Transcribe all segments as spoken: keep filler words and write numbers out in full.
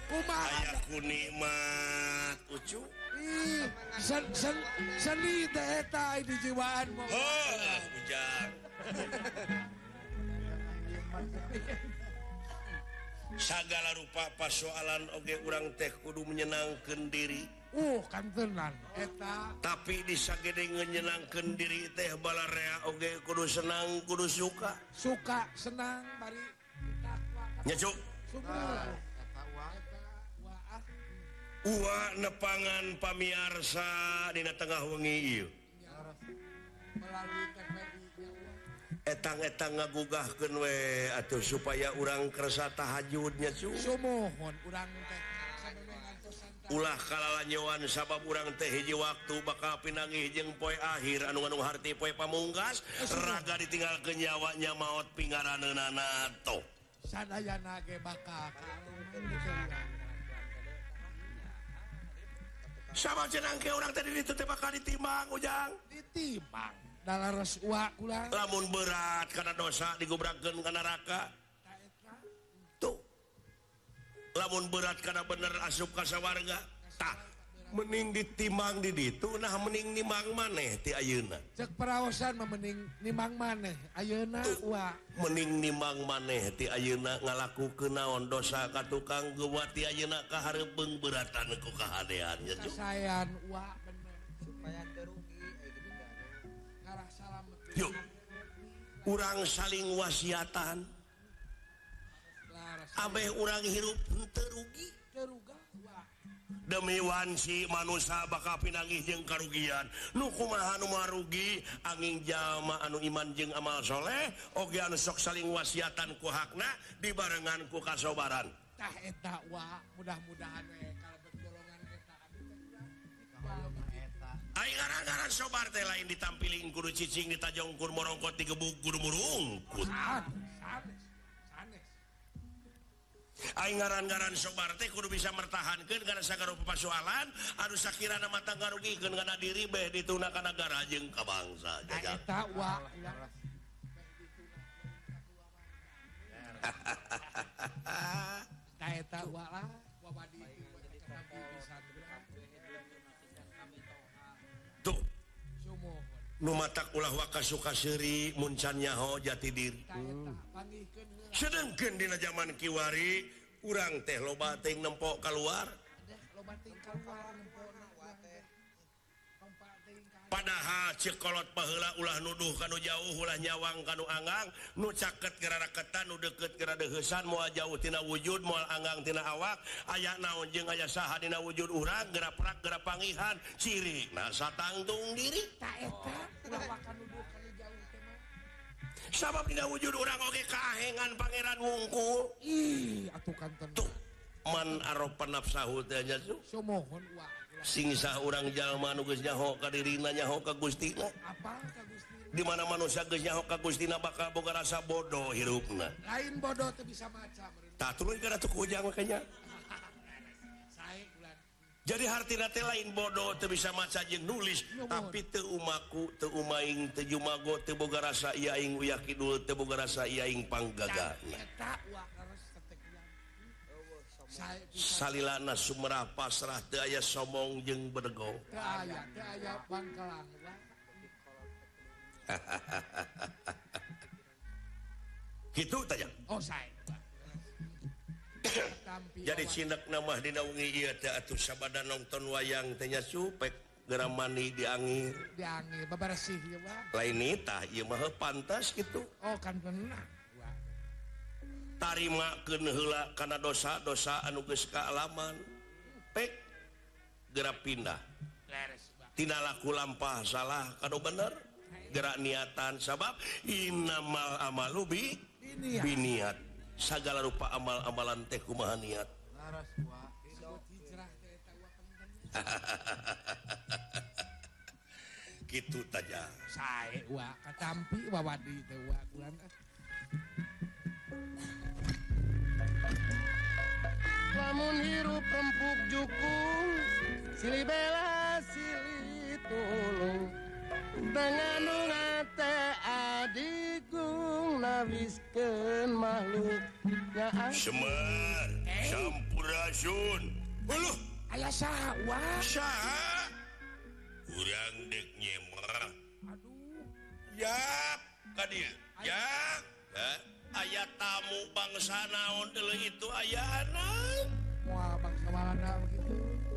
kumaha ku nikmat ucu ih sen sen seni teh eta di jiwaan mah oh bujang sagala rupa pasoalan oge urang teh kudu menyenangkeun diri uh kan tenan eta tapi disagede ngenyenangkeun diri teh balarea oge kudu senang kudu suka suka senang bari nyacu sumur uwa nepangan pamiarsa dina tengah wengi ieu melalui T V I etang-etang ngagugahkeun we atuh supaya urang kersa tahajudnya cu sumohon urang teh sameme ngantosan ulah kalalanyoan sabab urang teh hiji waktu bakal pinanggih jeung poe akhir anu ngandung harti poe pamungkas raga ditinggalkeun nyawanya maot pingaraneunana toh sadayana ge bakal sama cenang ke urang teh di ditu teh bakal ditimbang ujang ditimbang dalares uak ulang lamun berat karena dosa digubrakkeun ka neraka tuh lamun berat karena bener asup ka sawarga tah mending ditimbang di ditu nah mending nimang maneh ti ayeuna cek paraosan mah mending nimang maneh ayeuna uak mending nimang maneh ti ayeuna ngalakukeun naon dosa ka tukang geuwat ti ayeuna kahareupeung beratan ku kahadean nya sayan uak bener supaya terugi ngarah salam yuk urang saling wasiatan laras abeh urang hirup henteu rugi teruga uak demi wansi manusia bakal pinanggih jeung karugian nu kumaha nu marugi angin jalma anu iman jeung amal soleh oge anu sok saling wasiatan ku hakna dibarengan ku kasobaran tah eta uak mudah-mudahan we kalebet golongan eta ai ngaran-ngaran sobar teh lain ditampilin kudu cicing ditajongkur morongkot digebuk kudu murungkut sanes sanes sanes ai ngaran-ngaran sobar teh kudu bisa mertahankeun kana sagarupa pasoalan anu sakirana mata ngarugikeun kana diri beh dituna ka nagara jeung ka bangsa tah jajak eta uak tah eta uak lah wabadi pisan tuh sumohon nu matak ulah waka suka seuri muncan nyaho jati diri tah eta panggihkeun heula sedengkeun dina zaman kiwari urang teh loba teuing nempo keluar deh loba ting kaluar nempona uak teh pompa ting ka padahal cekolot paheula ulah nuduh kanu jauh ulah nyawang kanu anggang nu caket ke raketan nu deukeut ke radeuheusan moal jauh tina wujud moal anggang tina awak aya naon jeung aya saha dina wujud urang gerak-gerak gerak pangihan ciri nah satangtung diri tah eta ulah wakan nuduh kanu jauh teh mah sabab dina wujud urang oge kahengan pangeran wungkul ih atuh kan tuh man aropa nafsahu teh nya sumohon uak sing sah urang jalma nu geus nyaho ka dirina nyaho ka Gustina apa ka Gusti di mana manusia geus nyaho ka Gustina bakal boga rasa bodoh hirupna lain bodoh teh bisa maca meureun tah tuluy kana tuh ujang makanya sae ulan jadi hartina teh lain bodoh teu bisa maca jeung nulis tapi teu umaku teu umaing teu jumago teu boga rasa ieu aing uyak kidul teu boga rasa ieu aing panggagana eta uak laras tetek ulang sae pisan salilana sumerah pasrah teu aya somong jeung bedego teu aya teu aya bangkelang uak kitu tanya oh sae tampi jadi awan. cinek nama dina wengi ieu teh atuh sabada nonton wayang teh nya supek geura mani di angin diangil babaresih ya uak lain tah ieu mah pantas gitu oh kan benar uak tarimakeun heula kana dosa-dosa anu geus kaalaman pek geura pindah leres uak tina laku lampah salah kanu bener geura niatan sabab innamal amalu bi ini ya biniat sagala rupa amal-amalan teh kumaha niat laras uak disebut hijrah teh eta uak penting kitu taja sae uak katampi wawadi teh uak ulan lamun hirup empuk jukung silih bela silih tulung dengan ngate adigung ngawiskeun makhluknya Semar Sampurasun uluh Aya sawah. saha urang dek nyemar yap kadir ya ya aya tamu bangsa naon deuleu itu ayana Wah, bangsa mana begitu.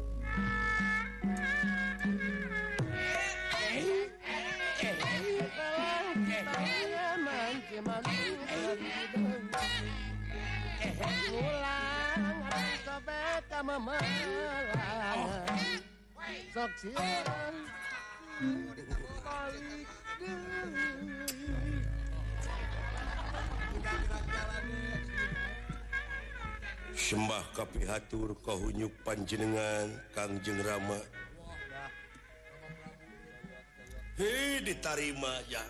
Sok sieuran balik deui. sembah kapihatur kahunyuk panjenengan Kangjeng Rama hei ditarima ya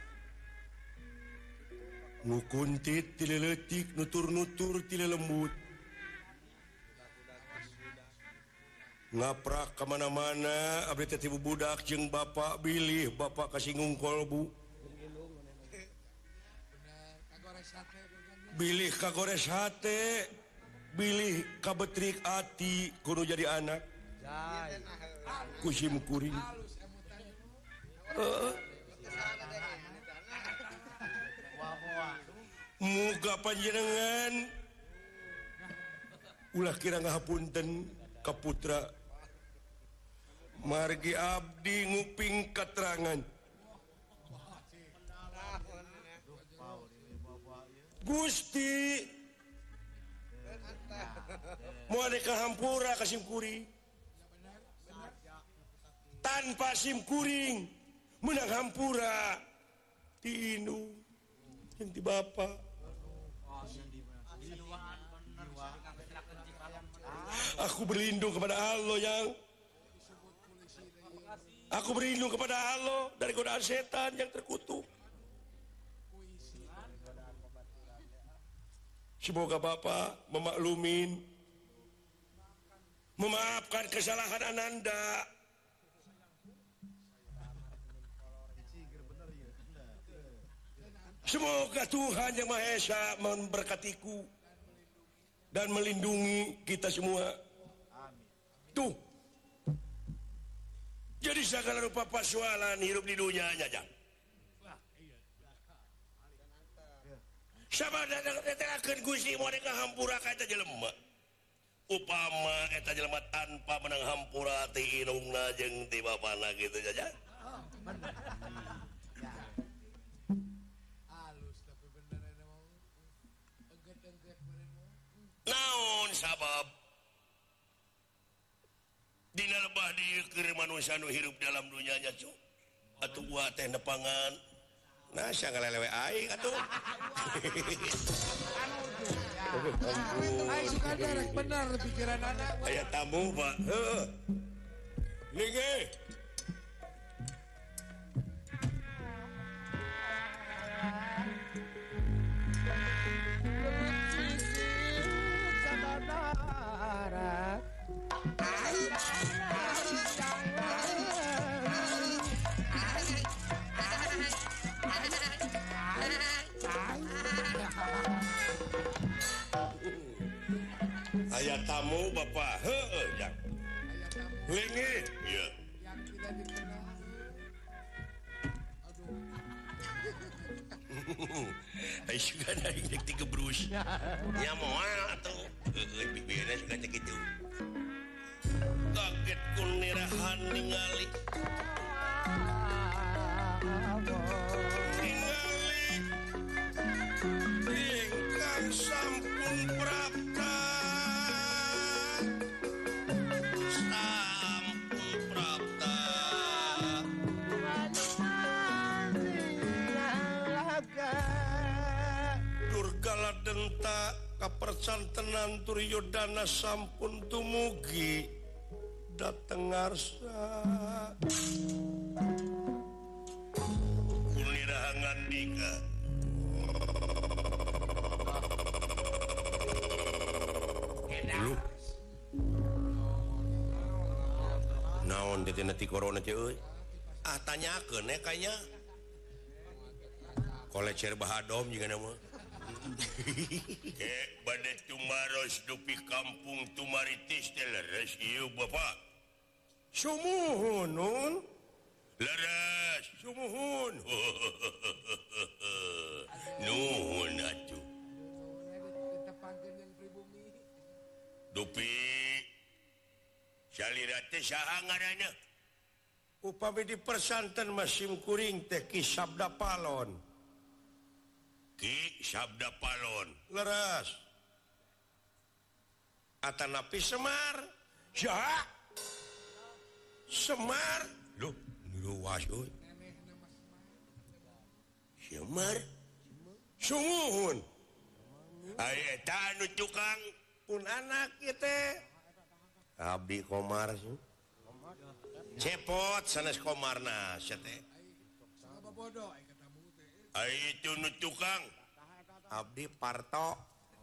nu kuntit ti leutik nutur-nutur ti lembut ngaprak kemana-mana abdi teh ti budak jeung bapak bilih bapak kasinggung kolbu bilih kagores hate bilih kabetrik ati kudu jadi anak kusim kuring uh. muga panjenengan ulah kira ngahapunten ka putra margi abdi nguping katerangan Gusti mau ada hampura ka simkuring tanpa simkuring menang hampura ti indung yang ti bapak aku berlindung kepada Allah yang aku berlindung kepada Allah dari godaan setan yang terkutuk. Semoga Bapak memaklumin, memaafkan kesalahan Ananda. Semoga Tuhan Yang Maha Esa memberkatiku dan melindungi kita semua. Tuh, jadi segala rupa persoalan hidup di dunia aja. Sama datang Gusti mau ka hampura ka eta jelema. Upama eta jelema tanpa menang hampura ti indungna jeung ti bapana gitu saja. Halus tapi bener ini mau. Engget-engget bener mau. Naon sabab dina lebah dieu keur manusia nu hirup dalam dunia nya cu. Atuh gua teh nepangan nah sia ngalelewe aing atuh. Aing suka derek bener pikiran anak. Aya tamu, Pak. Heeh. Ningge. Aya tamu Bapak. Heeh, Jang. Lengit. Iya. Yang tidak dikenal. Aduh. Ai suka dari dek tiga brus. Ya moal atuh. Heeh, bibirna suka cek itu. Kaget kunirahan ningali. Ningali. Ingkang sampun prapta. Denta kapercantenan Turyodana sampun tumugi dateng ngarsa kuliraha ngandika lu naon teh tina ti corona teh euy ah tanyakeun ya kayaknya kolecer bahadom juga nama eh badai tumaros dupi kampung tumaritis teh leres ieu bapak sumuhun nun leres sumuhun nuhun atuh ditepangkeun yang pribumi. dupi salira teh saha ngaranna upami di persanten Masim Kuring teh Ki Sabda Palon Ki Sabda Palon leres atanapi Semar saha Semar loh luas euy Semar sumuhun aya eta anu tukang pun anak ieu teh abdi Komar cepot sanes Komarna sia teh Saha bodoh ai katamu teh. ai itu nu tukang abdi Parto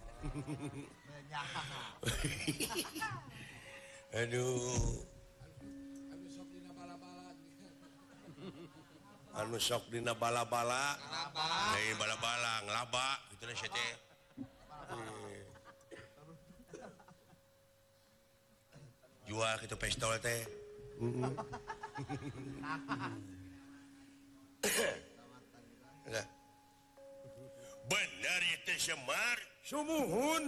aduh Anu sok dina bala-bala. anu sok dina bala-bala deui bala-bala nglaba kitu na sia teh jual kitu pistol teh Enggak. Benar itu Semar sumuhun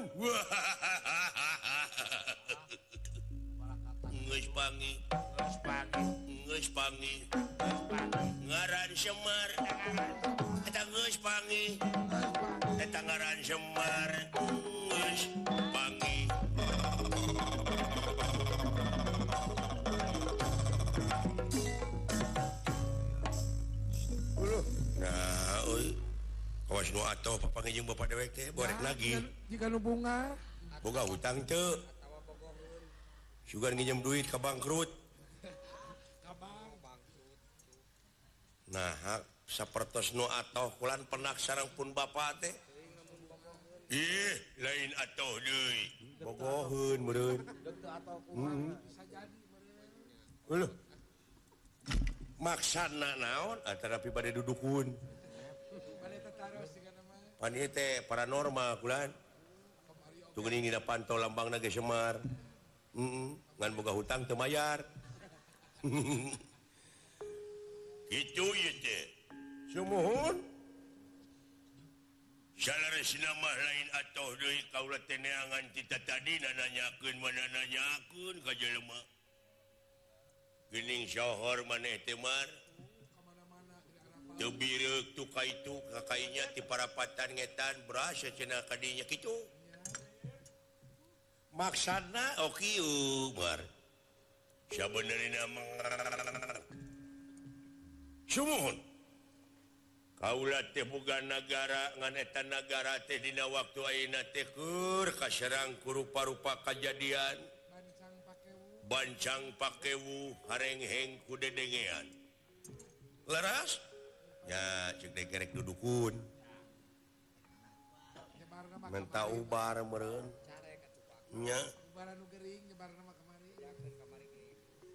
geus pangi geus pangi geus pangi ngaran Semar eta geus pangi eta ngaran Semar geus pangi nah euy kawas nu atoh papanggih jeung bapak dewek teh borek nagih Jika nu bunga boga hutang teu sugan nginjem duit ka bangkrut kabang bangkrut. nah sapertos nu atoh kulan penak sareng pun bapak teh ih lain atoh deui bogoheun meureun Bisa jadi meureun. Uluh maksana naon antara pribadi dudukun Bade tataros jeung nama pan ieu teh paranormal kulan tuh geuning dina pantau lambangna ge Semar heeh ngan boga hutang teu mayar kitu ieu teh sumuhun salaresna mah lain atoh deui kaula teh neangan cita tadi nanyakeun mana nanyakeun ka jelema geuning sohor maneh teh Mar teu bireuk tu kaitu kakainya ti parapatan ngetan beras cenah kadinya kitu maksana okiu Mar sabenerna mah sumuhun kaula teh boga nagara ngan eta nagara teh dina waktu ayeuna teh keur kaserang ku rupa-rupa kajadian bancang pakewu bancang pakewu harengheng ku dedengean leras nya ceuk degerek dudukun nyebarna mah menta ubar meureun nya ubaran nu gering nyebarna mah kamari yakeun kamari ge.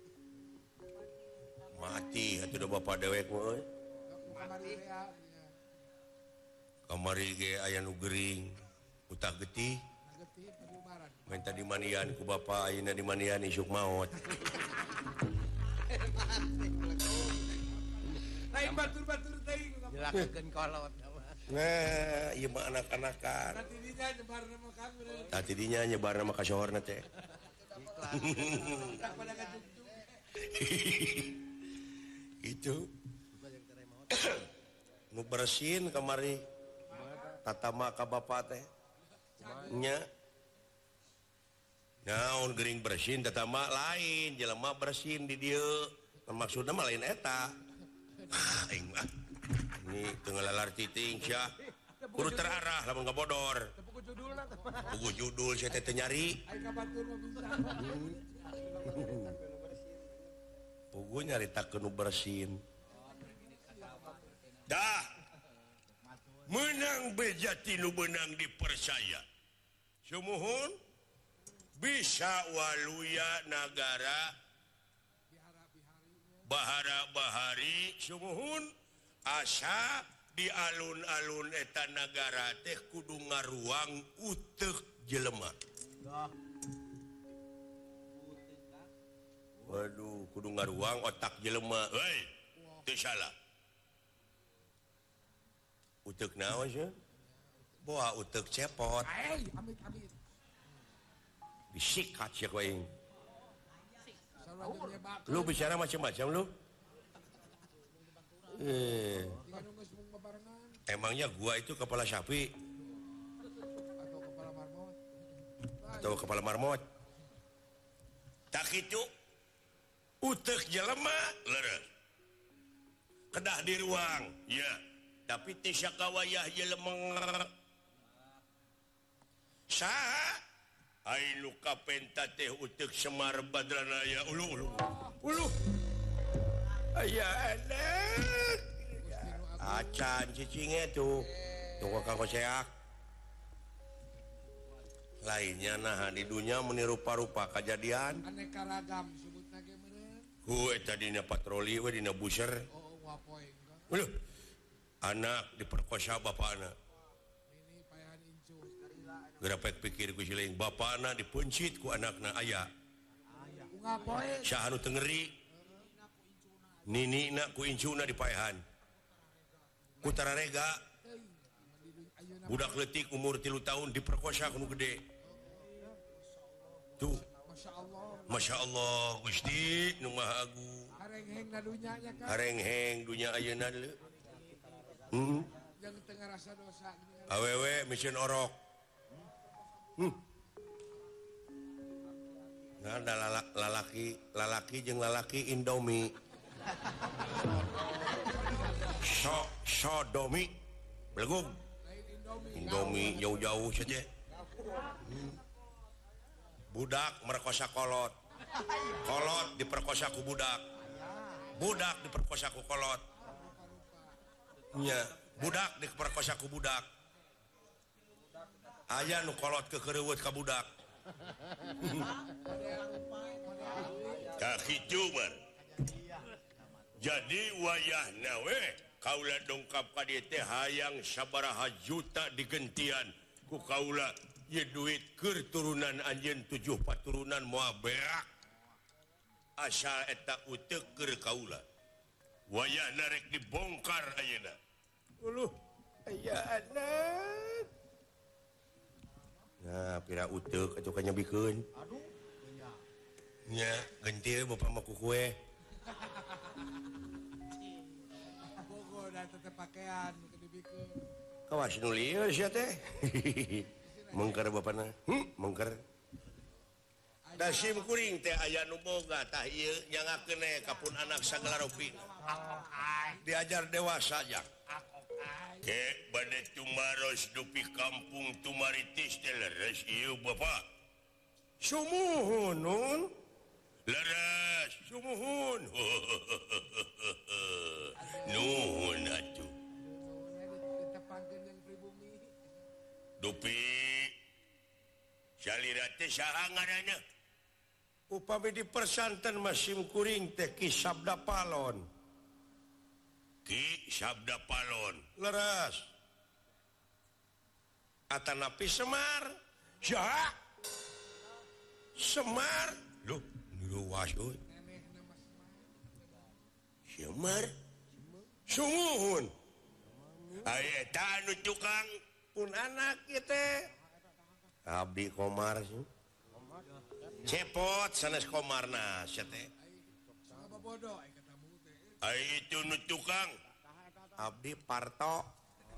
mati atuh da bapak dewek mah euy Kamari rea nya. kamari ge aya nu gering utak getih Nagetih tadi ubaran. minta dimanian ku bapak ayeuna dimanian isuk maot Lain batur-batur teuing ku kamari. Jelakeun kolot. nah ieu mah anak-anakan Nanti dinya nyebarna mah kan meureun. tadi dinya nyebarna mah ka sohorna teh Tak pada kacuk-cuk. itu nu bersin kamari tatama ka bapak teh nya naon gering bersin tatama lain jelema bersin di dieu maksudna mah lain eta aing mah ini teu ngalalar titing sia kudu terarah lamun ngabodor Tepuk judulna teh. puguh judul sia teh teu nyari Ai ka batur mah bisa. puguh nyaritakeun nu bersin dah menang bejati nu benang dipercaya sumuhun bisa waluya nagara bahara bahari sumuhun asa di alun-alun eta negara teh kudu ngaruang utek jelema. Waduh, kudu ngaruang otak jelema. Hei, teu salah. Utek naon sih? Boa utek cepot. Hei, amit amit. Disikat sia ku aing. Salah nyebak. Lu bicara macam-macam lu. Eh, Jika nu geus mung babarengan emangnya gua itu kepala sapi atau kepala marmot. atau kepala marmot? Tak itu utek jelema leres. Kedah di ruang, ya. Tapi teu sakawayah jelema. Saha? Anu kapenta teh utek Semar Badranaya. Ulu ulu. Ulu. Aya anak. Acan cicinge tuh. Tunggu Kang Koseak. Lainnya nah di dunia meniru rupa-rupa kejadian. Aneka ragam sebutna ge meureun. Ku eta dina patroli we dina buser. Oh, wapoe enggak. Uluh. Anak diperkosa bapakna. Ini payahan incu. Gerapek pikir ku sileung bapakna dipencit ku anakna aya. Unga poe. Saha nu teu ngeri. Ninina ku incuna dipaehan. Ku tararega budak leutik umur tilu tahun diperkosa ku nu gede. Tuh, Masya Allah. Masya Allah Gusti nu Maha Agung. Hareng-heng na dunya nya kan. Hareng-heng dunya ayeuna deuleu. Hmm. Yang tengah rasa dosa gini. Awewe mieun orok. Hmm. Nah, ada lala- lalaki, lalaki jeung lalaki Indomie. So, sodomi. Belegug. Lain Indomie. Indomie jauh-jauh saja. Hmm. Budak merkosa kolot. Kolot diperkosa ku budak. Budak diperkosa ku kolot. Nya, budak diperkosa ku budak. Aya nu kolot kekereuweut ka budak. Ka kitu man. Jadi wayahna we kaula dongkap ka dieu teh hayang sabaraha juta digentian ku kaula ye duit keur turunan anjeun tujuh paturunan moal berak asal eta uteuk keur kaula wayahna rek dibongkar ayeuna uluh aya anak nah pira uteuk atuh ka nyabikeun aduh nya gentil bapa mah ku kue Bogo dan tetep pakaian ke dibikeun. kawas nu lieur sia teh mengker bapana hm mengker da sim kuring teh aya nu boga tah ieu nyangakeun we kapun anak sagala rupina diajar dewasa jak ke bade tumaros dupi kampung tumaritis teh leres ieu bapak sumuhun nun leres sumuhun nuhun atuh Ditepangkeun yang pribumi. dupi salira teh saha ngaranna upami di persanten masim kuring teh Ki Sabda Palon Ki Sabda Palon leres atanapi Semar saha Semar loh luas euy Semar sumuhun aya eta anu tukang pun anak ieu teh abdi Komar sih cepot sanes Komarna sia teh Sama bodoh ai katamu teh. ai itu nu tukang abdi Parto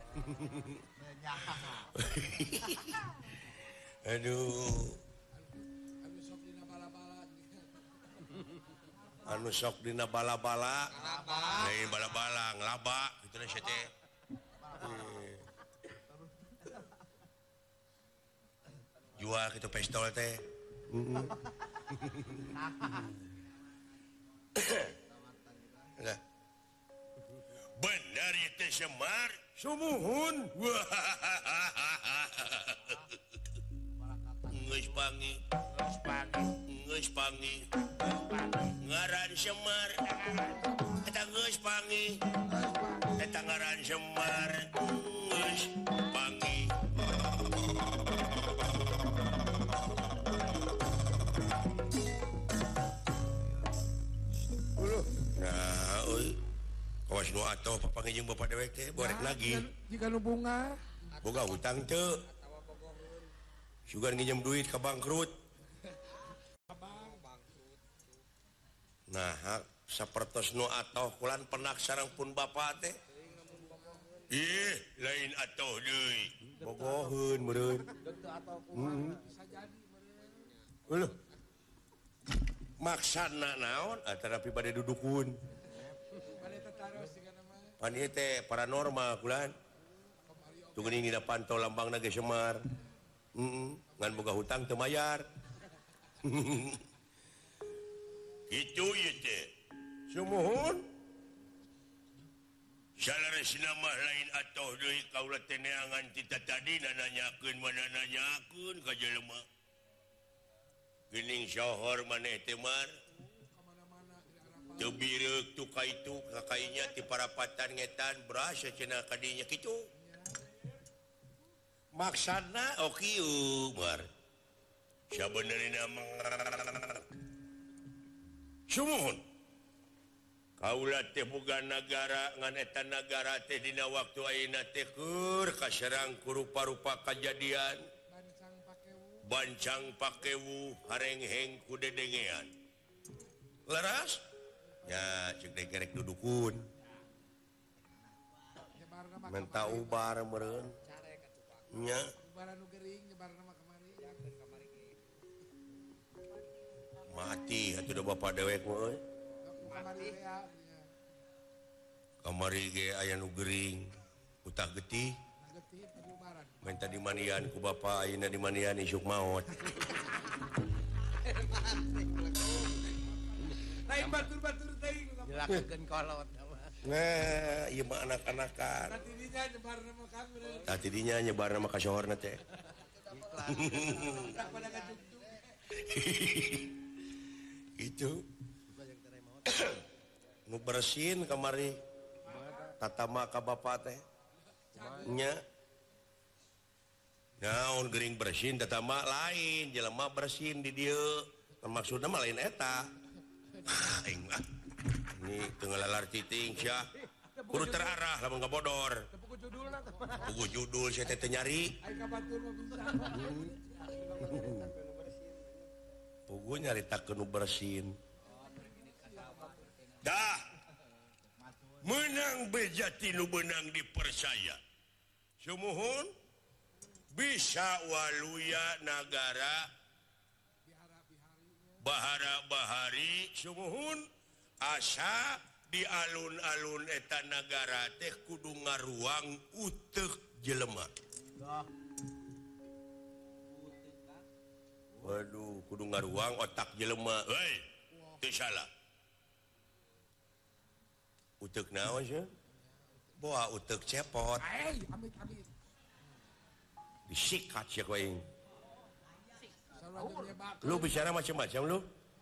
aduh Anu sok dina bala-bala. anu sok dina bala-bala lain bala-bala ngelaba gitu na sia teh Eh. jual gitu pistol teh Enggak. Benar itu Semar sumuhun geus pangi geus pangi ngaran Semar eta geus pangi eta Tangaran Semar geus panggih nah euy kawas nu atoh papanggih jeung bapak dewek teh borek lagi jika nu bunga boga hutang teu sugan nginjem duit ka bangkrut nah hak sapertos nu atoh kulan penak sareng pun bapak teh ih lain atoh deui bogoheun meureun heeh Uluh maksana naon antara pi bade dudukun pan ieu teh paranormal kulan tu geuning dina pantau lambangna ge Semar heeh ngan boga hutang teu mayar kitu ieu teh sumuhun salaresna mah lain atoh deui kaula teh neangan tita tadina nanyakeun mana nanyakeun ka jelema geuning sohor maneh teh Mar teu bireuk tu ka itu ka kainya ti parapatan ngetan berasa cenah kadinya kitu maksana okieu Mar sabenerna mah sumuhun kaula teh boga nagara ngan eta nagara teh dina waktu ayeuna teh keur kaserang ku rupa-rupa kajadian bancang pakewu harengheng ku dedengean leras nya ceuk deui kerek dudukun menta ubar meureun nya ubaran nu geuring nyebarna mah kamari mati atuh da bapak dewek mah euy kamari ya kamari ge aya nu geuring utah getih getih tadi ubaran minta dimanian ku bapak ayeuna dimanian isuk maot lain batur-batur teuing Jelakeun kolot. nah ieu mah anak-anakan tadi dinya nyebarna mah kang bener tadi dinya nyebarna mah ka sohorna teh tak pada ngajug itu nu bersin kamari tatama ka bapak teh nya naon geuring bersin tatama lain jelema bersin di dieu maksudna mah lain eta aing mah ini teu ngalalar titing sia kudu terarah lamun kabodor tepuk judulna teh pugu judul sia teh teu nyari ai ka batur mah bisa pugu nyaritakeun nu bersin dah menang bejati nu benang dipercaya sumuhun bisa waluya nagara bahara-bahari sumuhun asa di alun-alun eta nagara teh kudu ngaruang uteuk jelema waduh kudu ngaruang otak jelema hei teu salah uteuk naon sia boa uteuk cepot ai amit amit disikat sia ku aing sarua nyebak lu bicara macam-macam lu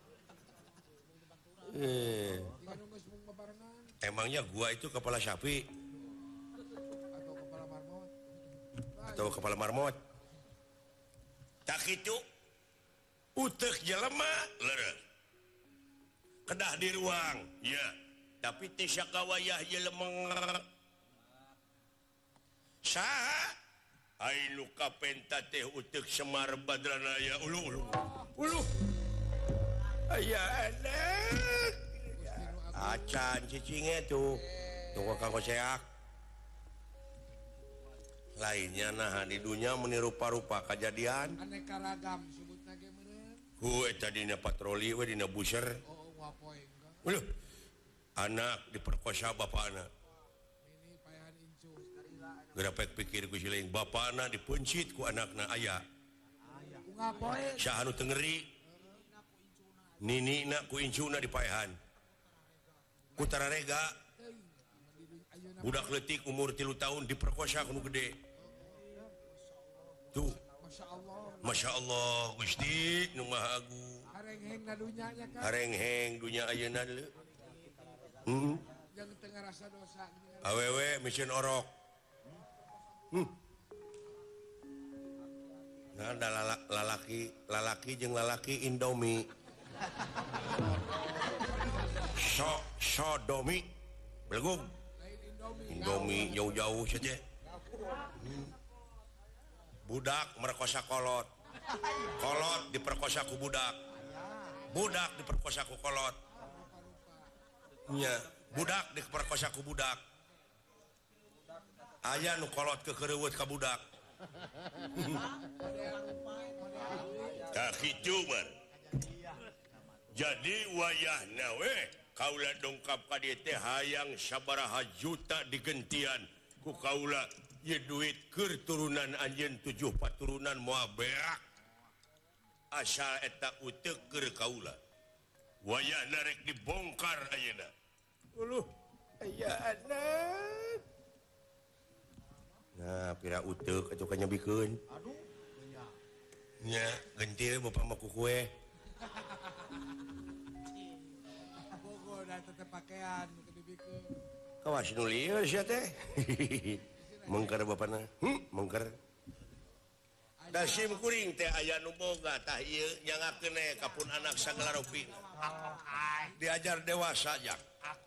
eh jika nu geus mung babarengan emangnya gua itu kepala sapi atau kepala marmot atau kepala marmot tak itu utek jelema leres kedah di ruang ya tapi teu sakawayah jelema saha ai nu kapenta teh utek Semar Badranaya ulu ulu ulu aya anak acan cicinge tuh tunggu kanggo seak lainnya nah di dunia meniru rupa-rupa kejadian aneka ragam sebutna ge meureun ku eta dina patroli we dina buser oh wapoe enggak uluh anak diperkosa bapakna ini payahan incu gerapek pikir ku siling bapakna dipencit ku anakna aya bunga poe saha nu teu ngeri ninina ku incuna dipaehan ku tararega budak leutik umur tilu tahun diperkosa ku nu gede tuh Masya Allah Masya Allah Gusti nu Maha Agung harengheng na dunya nya kan harengheng dunya ayeuna deuleu hmm. jangan tengah rasa dosa. awewe mission orok. Hmm. Nah, ada lala- lalaki, lalaki jeung lalaki Indomie. So, sodomi. Belum. Indomie jauh-jauh saja. Hmm. Budak merkosa kolot. Kolot diperkosa ku budak. Budak diperkosa ku kolot. Nya, budak diperkosa ku budak. Aya nu kolot kekereuweut ka budak. Tah kitu bar. Jadi wayahna we kaula dongkap ka dieu teh hayang sabaraha juta digentian ku kaula ye duit keur turunan anjeun tujuh paturunan moal berak. Asal eta uteuk keur kaula. Wayahna rek dibongkar ayeuna. Uluh aya anak. Nah, pira uteuk atuh ka nyebikeun. Aduh. Nya, gentil bapak mah ku kue. Bogo da tetep pakaian ke dibikeun. Kawas nu lieur sia teh. Mengker bapana. Hmm, mengker. Da sim kuring teh aya nu boga tah ieu nyangakeun we ka pun anak sagala rupi. Diajar dewasa jak.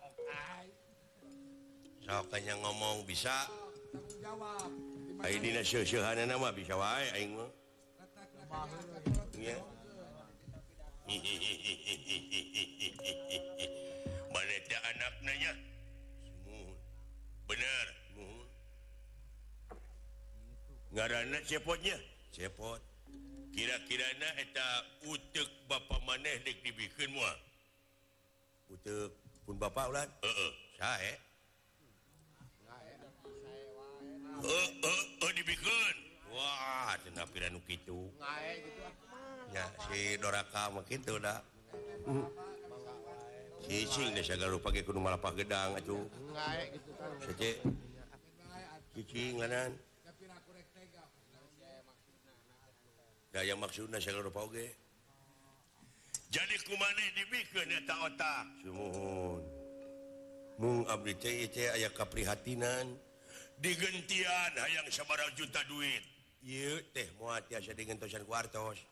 Sok kanya ngomong bisa. Tanggung jawab. Ai dina seuh-seuhanana mah bisa wae aing mah. Nya. Mana teh anakna nya? Muhun. Bener, muhun. Ngaranna cepotnya? Cepot. Kira-kirana eta uteuk bapa maneh dek dibikeun moal. Uteuk pun bapa ulah? Heeh. Sae? Heeh, heeh dibikeun. Wah, cenah pira nu kitu. Ngae gitu ah. Ya, si Doraka mah kitu da. Cicing deh segala rupa ge kudu malapah gedang atuh. Ngae gitu kan. Sace. Cicing lanan. Da yang maksudna segala rupa oge. Jadi kumaneh dibikeun eta otak. Sumuhun. Mung abdi teh teh aya kaprihatinan. Digentian hayang sabaraha juta duit. Ieu teh moal tiasa digentosan ku artos.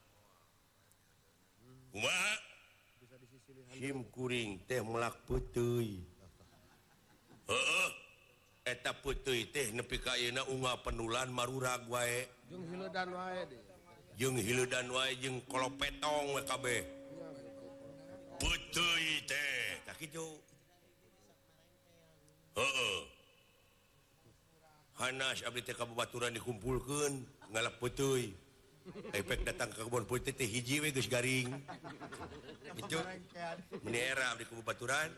Kumaha? Sim kuring teh melak peuteui. Heeh. Eta peuteui teh nepi ka ayeuna unggal penulan marurag wae. Jeung hileudan wae deh. Jeung hileudan wae jeung kolopetong we kabeh. Peuteui teh, tah kitu. Heeh. Hanas abdi teh ka babaturan dikumpulkeun ngalap peuteui. Efek datang ke kebun putih teh hiji we geus garing. Itu meni era abdi ku babaturan.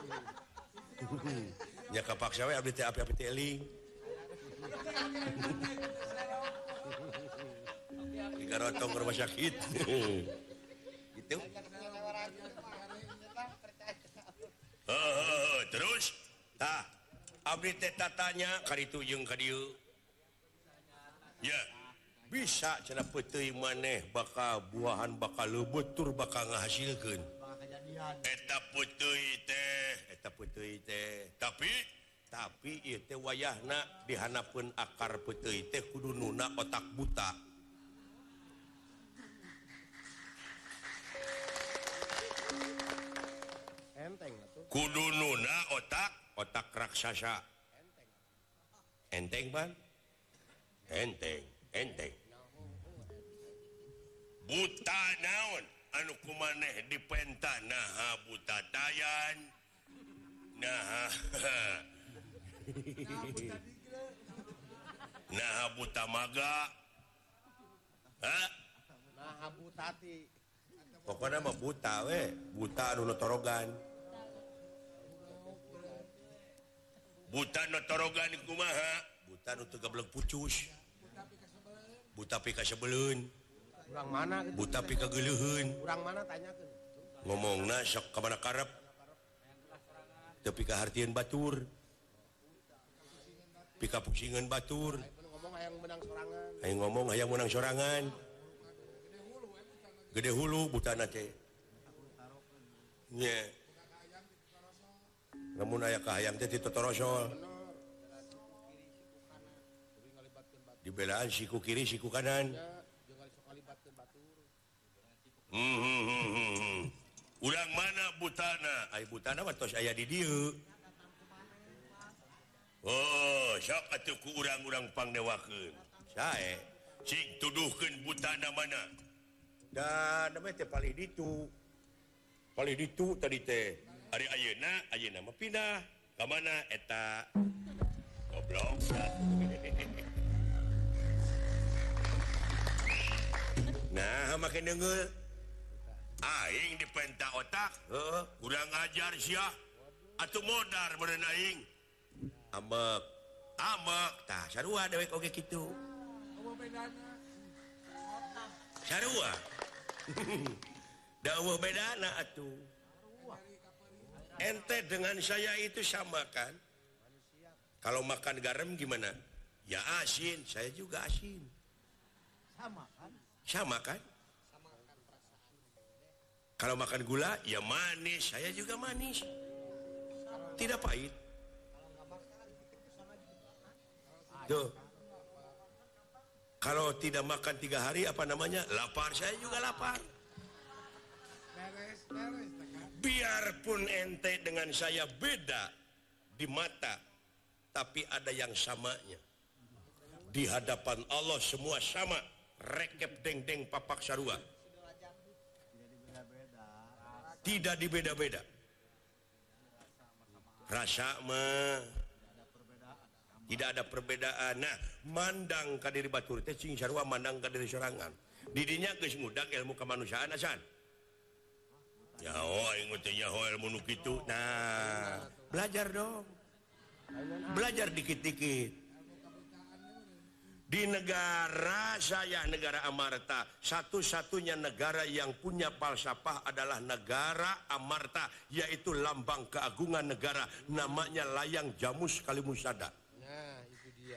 Nya kapaksa we abdi teh api-api teh eling. Digarotong ke rumah sakit. Gitu. Heeh, terus tah abdi teh tatanya ka ditu jeung ka dieu. Ya. Bisa cenah peuteui maneh bakal buahan bakal leubeut bakal ngahasilkeun. Eta peuteui teh, eta peuteui teh. Tapi tapi ieu teh wayahna dihanapeun akar peuteui teh kudu nuna otak buta. Enteng atuh. Kudu nuna otak otak raksasa. Enteng ban? Enteng, enteng. Buta naon anu kumaneh dipentah naha buta tayan naha naha buta maga ha Nah, butati. pokoknya mah buta we buta anu notorogan buta notorogan kumaha buta nu teu gableng pucus buta pi ka sebeleun Urang mana gitu. buta pi ka geuleuheun Urang mana tanyakeun. ngomongna sok ka mana karep teu pi ka hartieun batur pi ka pusingkeun batur Ngomong hayang menang sorangan. hayang ngomong hayang menang sorangan gede hulu butana teh nya namun aya kahayang teh ti totorosol dibelaan siku kiri siku kanan hmm, hmm, hmm, hmm. Urang mana butana ay butana mah tos aya di dieu oh sok atuh ku urang-urang pangdewakeun sae cing tuduhkeun butana mana dan namanya teh palih ditu palih ditu tadi teh hari ayeuna ayeuna mah pindah ka mana eta goblok nah make deungeul aing dipenta otak heeh kurang ajar sia atuh modar meureun aing amek amek tah sarua dewek oge kitu sarua dawuh bedana atuh ente dengan saya itu sama kan kalau makan garam gimana ya asin saya juga asin sama kan sama kan kalau makan gula ya manis saya juga manis tidak pahit tuh kalau tidak makan tiga hari apa namanya lapar saya juga lapar biarpun ente dengan saya beda di mata tapi ada yang samanya di hadapan Allah semua sama rekep deng-deng papak sarua tidak dibeda-beda rasa mah tidak ada perbedaan. Nah mandang ka diri batur teh cing sarua mandang ka diri sorangan didinya geus ngudag ilmu kemanusiaan asan nyaho aing teh nyaho ilmu nu kitu nah belajar dong belajar dikit-dikit di negara saya negara Amarta satu-satunya negara yang punya falsafah adalah negara Amarta yaitu lambang keagungan negara namanya layang Jamus Kalimusada. Nah itu dia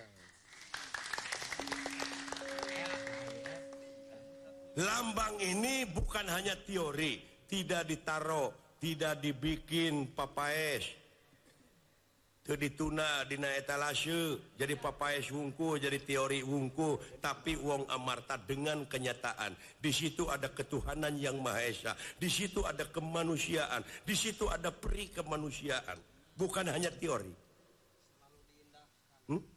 lambang ini bukan hanya teori tidak ditaruh tidak dibikin papaes teu dituna dina etalase jadi papaes wungku jadi teori wungku tapi wong Amarta dengan kenyataan di situ ada ketuhanan yang Maha Esa di situ ada kemanusiaan di situ ada peri kemanusiaan bukan hanya teori hmm?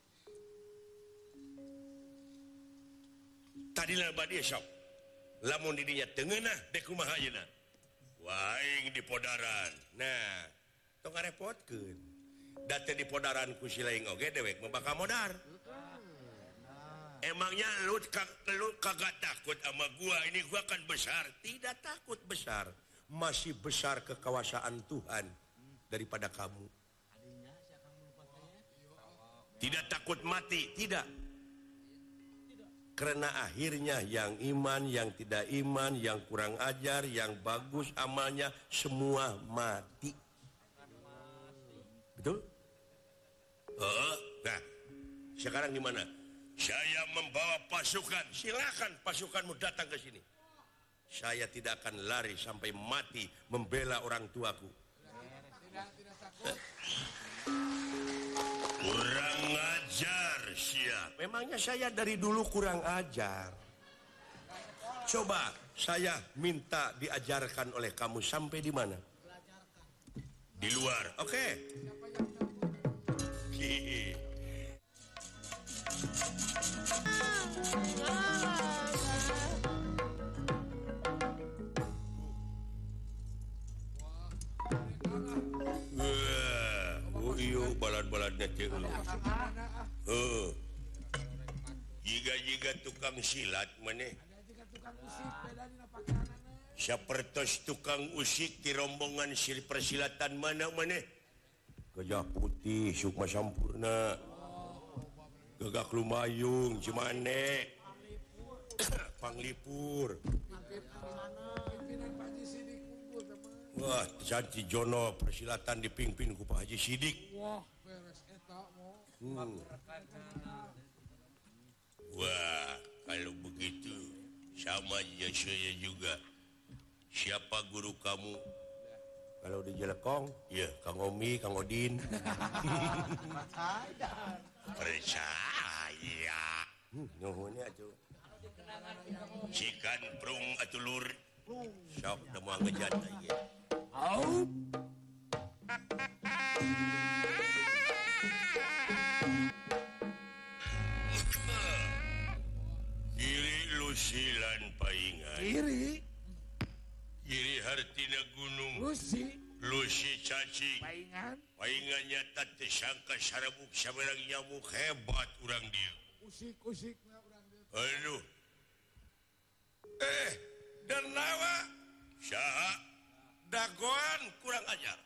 tadi lah badi sok lamun didinya tengenah dek kumaha ayeuna waing di podaran nah tong ngarepotkeun da teh di podaran ku si laing oge dewek mah bakal modar emangnya lu, lu kagak takut sama gua ini gua kan besar tidak takut besar masih besar kekuasaan Tuhan daripada kamu tidak takut mati tidak karena akhirnya yang iman, yang tidak iman, yang kurang ajar, yang bagus amalnya semua mati. Betul? Uh, nah, sekarang gimana? Saya membawa pasukan, silakan pasukanmu datang ke sini. Saya tidak akan lari sampai mati membela orang tuaku. Tidak, tidak takut. Kurang ajar siap. Memangnya saya dari dulu kurang ajar. Coba saya minta diajarkan oleh kamu sampai di mana? Di luar. Oke. Okay. Balad-baladnya teh heeh. Jiga-jiga tukang silat maneh. Ada juga tukang usik beda dina pakaianana. Sapertos tukang usik di rombongan sil persilatan mana maneh? Gajah Putih, Sukma Sampurna. Gagak Lumayung, Cimane. Panglipur. Pimpinan Pak Haji Sidik kumpul teman. Wah, Santi Jono persilatan dipimpin ku Pak Haji Sidik. Wah, beres eta mo. Hmm. Wah, kalau begitu sama aja saya juga. Siapa guru kamu? kalau di Jelekong iya Kang Omi Kang Odin percaya nuhun atuh cikan prung atuh lur sok da moal ngejat ieu au kiri lusilan paingan Kiri. kiri hartina gunung Lusi. Lusi cacing Paingan. paingannya teh sangka sarabuk sabarang nyamuk hebat urang dia Usik-usik. aduh eh dan nawa saha dagoan kurang ajar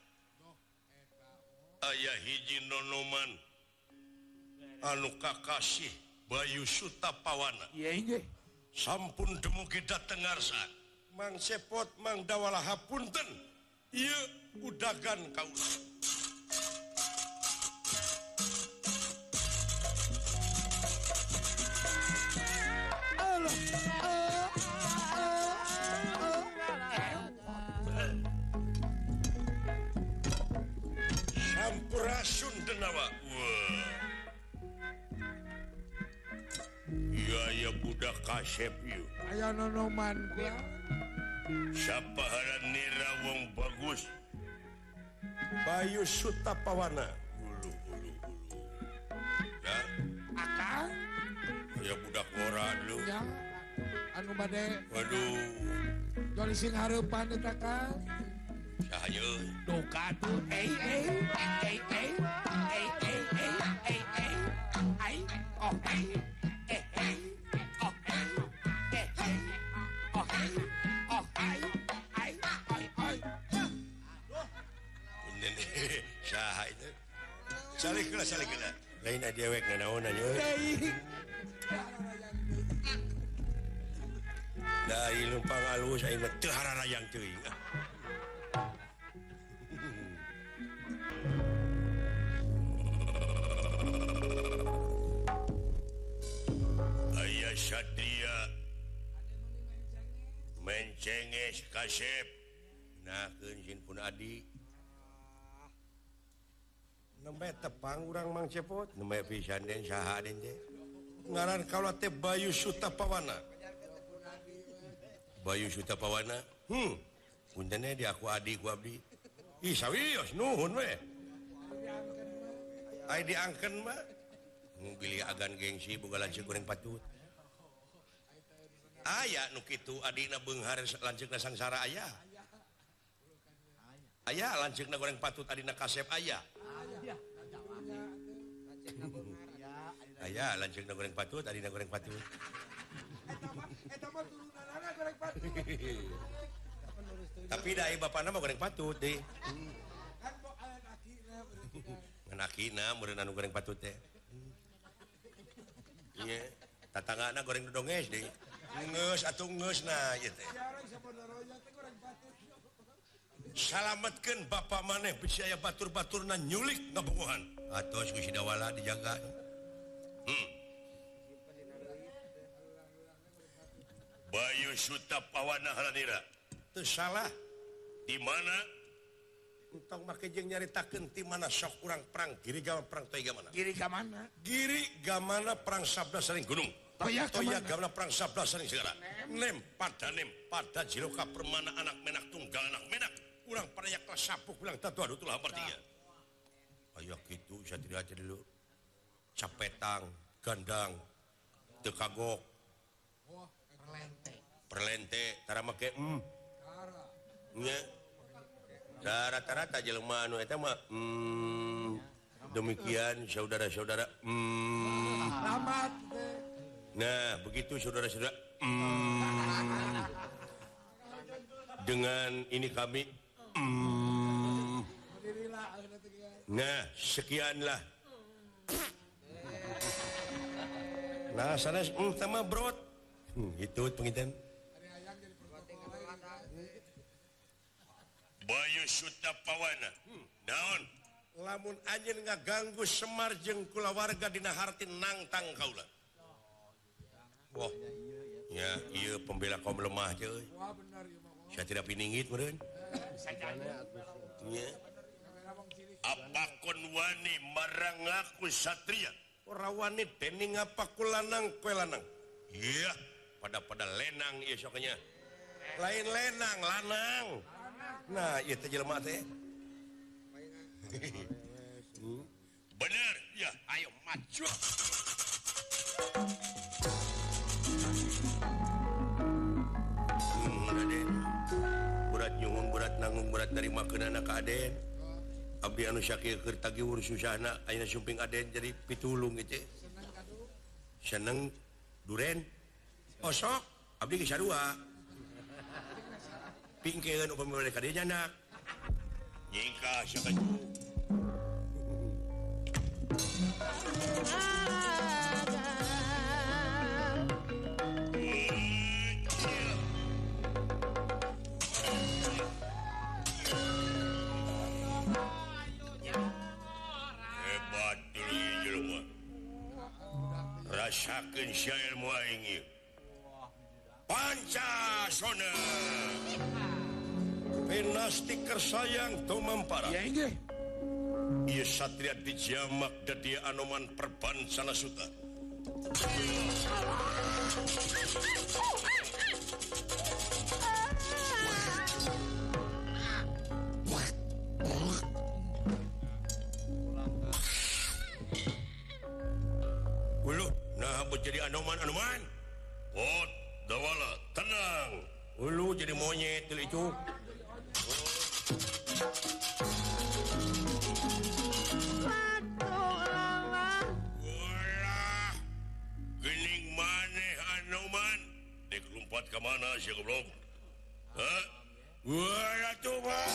aya hiji nonoman anu kakasih Bayu Sutapawana Iya inge. sampun dumugi dateng ngarsa Mang Sepot Mang Dawalah hapunten ieu udagan kaula Sampurasun denawa wah iya ya budak kasep yuk Aya nonoman gua. sapaharan nira wong bagus Bayu Sutapawana ulu ulu ulu ya Akang. ya budak ngora lu Ya. Anu bade. waduh Joli sing hareupan eta Kang. sahaja Duka tuh. Eh eh. Eh eh. Eh eh eh. Eh eh. Ai. Oh eh. Eh eh. Oh eh. Eh eh. Oh eh. Oh ai. Ai. Ai ai. punten saha itu salih kela salih kela lain ada dewek nganaonan yeuh Teuing. dari lumpang alus aing mah teu hararayang teuing aya satria mencenges kasep nakeun sin pun adi nembe tepang urang Mang Cepot nembe pisan den saha den teh ngaran kaula teh Bayu Sutapawana Bayu Sutapawana hmm punten di aku adi ku abdi ih sawios nuhun we ai diangkeun mah pilih agan gengsi boga lanceuk goreng patut aya nu kitu adina beunghar lanceukna sangsara aya aya lanceukna goreng patut adina kasep aya aya lanceukna goreng patut adina goreng patut Eta mah turunanana goreng patut. tapi dai bapana mah goreng patut deh Kan kok aya akina berarti kan. ngan akina meureun anu goreng patut teh iya tatanggana goreng dodonges deh ngeus atuh ngeusna ieu teh Jarang saudara teh goreng patut. salametkeun bapa maneh bisi aya batur-baturna nyulik ngabogohan atos ku si Dawala dijaga hmm. Bayu Sutapawana halanira teu salah di mana entong make jeung nyaritakeun ti mana sok urang perang giri gamana perang toy gamana Kiri ka mana? giri gamana perang sabda saling gunung Toya ka toya mana? gamana perang sabda saling segala nem pada nem pada jiroka permana anak menak tunggal anak menak urang pada yak sapuk bilang tatu adu tulah bertiga aya kitu satria teh dulu capetang gandang teu kagok Wah, perlente. perlente tara make mm Kara. nya da rata-rata jelema anu eta mah mm demikian saudara-saudara mm Lamat teh. nah begitu saudara-saudara mm dengan ini kami mm Alhamdulillah akhirnya teh ya. nah sekianlah nah sanes mm tama brot hmm, itu penginten Bayu Sutapawana hmm, naon lamun anjeun ngaganggu Semar jeung kulawarga dina harti nangtang kaula wah ya ieu pembela kaum lemah teh euy Wah benar ya mah. saya tidak piningit meureun apa kon wani marang aku satria ora wani dening apa ku lanang kowe lanang iya pada-pada lenang ieu soknya lain lenang lanang nah ieu teh jelema teh bener ya ayo maju berat nyuhun berat nanggung berat dari makeunana ka Aden abdi anu sakieu keur tagiur susahna ayeuna sumping Aden jadi pitulung gitu seneng duren oh sok abdi geus sarua pingkeun upami mereka dia jana nyingkah sakaju rasakeun sia ilmu aing ieu Pancasona penasti kersayang tumampara Ya inggih. ieu satria dijamak dadi Anoman perbansana suta Ulu, nah buat jadi Anoman-Anoman. Oh, dawala, tenang. Ulu jadi monyet tuh itu. Walah, gening maneh Anoman. Dek lompat ke mana sih goblok? Hah? Walah tuh mah.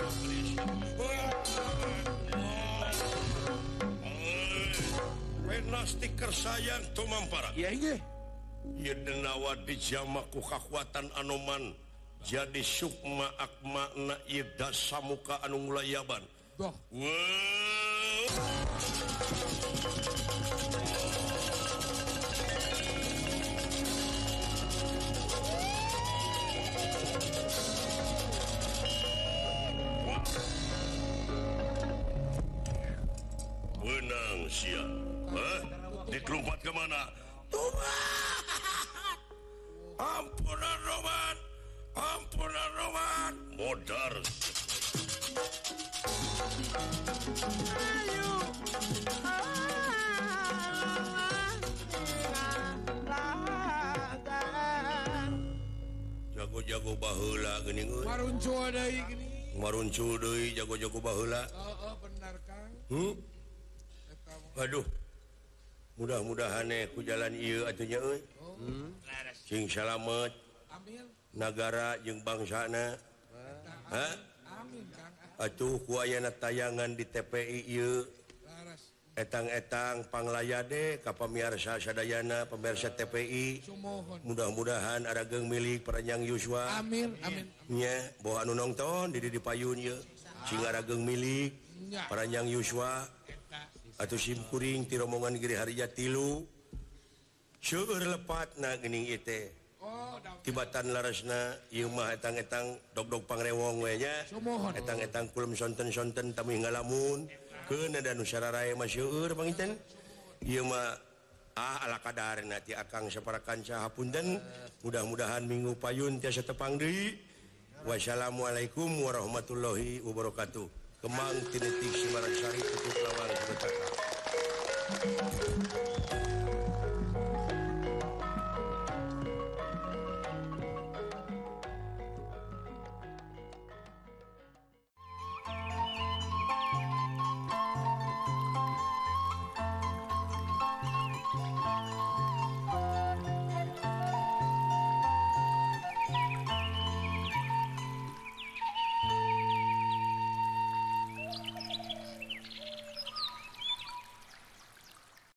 Penasti kersayang tumampara. Ya inggih. Ieu denawa dijamak ku kakuatan Anoman jadi sukma akmana ieu dasamuka anu ngulayaban. Doh. Wow. Benang sia. Hah? Dikelumpat ke mana? Tuhan! Ampunan Roman! Ampunan Roman! Modar. Ayo. Jago-jago baheula geuning euy. Maruncu deui gini. Maruncu deui jago-jago baheula. Heeh, benar Kang. Hmm? Aduh. Mudah-mudahan eh ku jalan ieu atuh nya euy. Hmm. Sing salamet Amin. nagara jeung bangsana. Hah? Amin Kang. Atuh ku ayana tayangan di T P I ieu Laras. etang-etang panglayade ka pamirsa sadayana pemirsa T P I. Sumohon. Mudah-mudahan arageung milik Peranjang Yuswa. Amin, amin. Nya boh anu nongton di di payun ieu sing arageung milik Nya. Peranjang Yuswa. Atau sim kuring ti rombongan Giri Harja tilu seueur lepatna geuning ieu teh Oh, da. tibatan larasna ieu mah etang-etang dog-dog pangrewong we nya Sumohon. etang-etang kulum sonten-sonten tamih ngalamun keun ada nu sararae mah seueur panginten ieu mah ah ala kadarna ti akang saparakanca hapunten mudah-mudahan minggu payun tiasa tepang deui wassalamualaikum warahmatullahi wabarakatuh. Kemang tinetik Simarang Sari tutup lawang sebetak.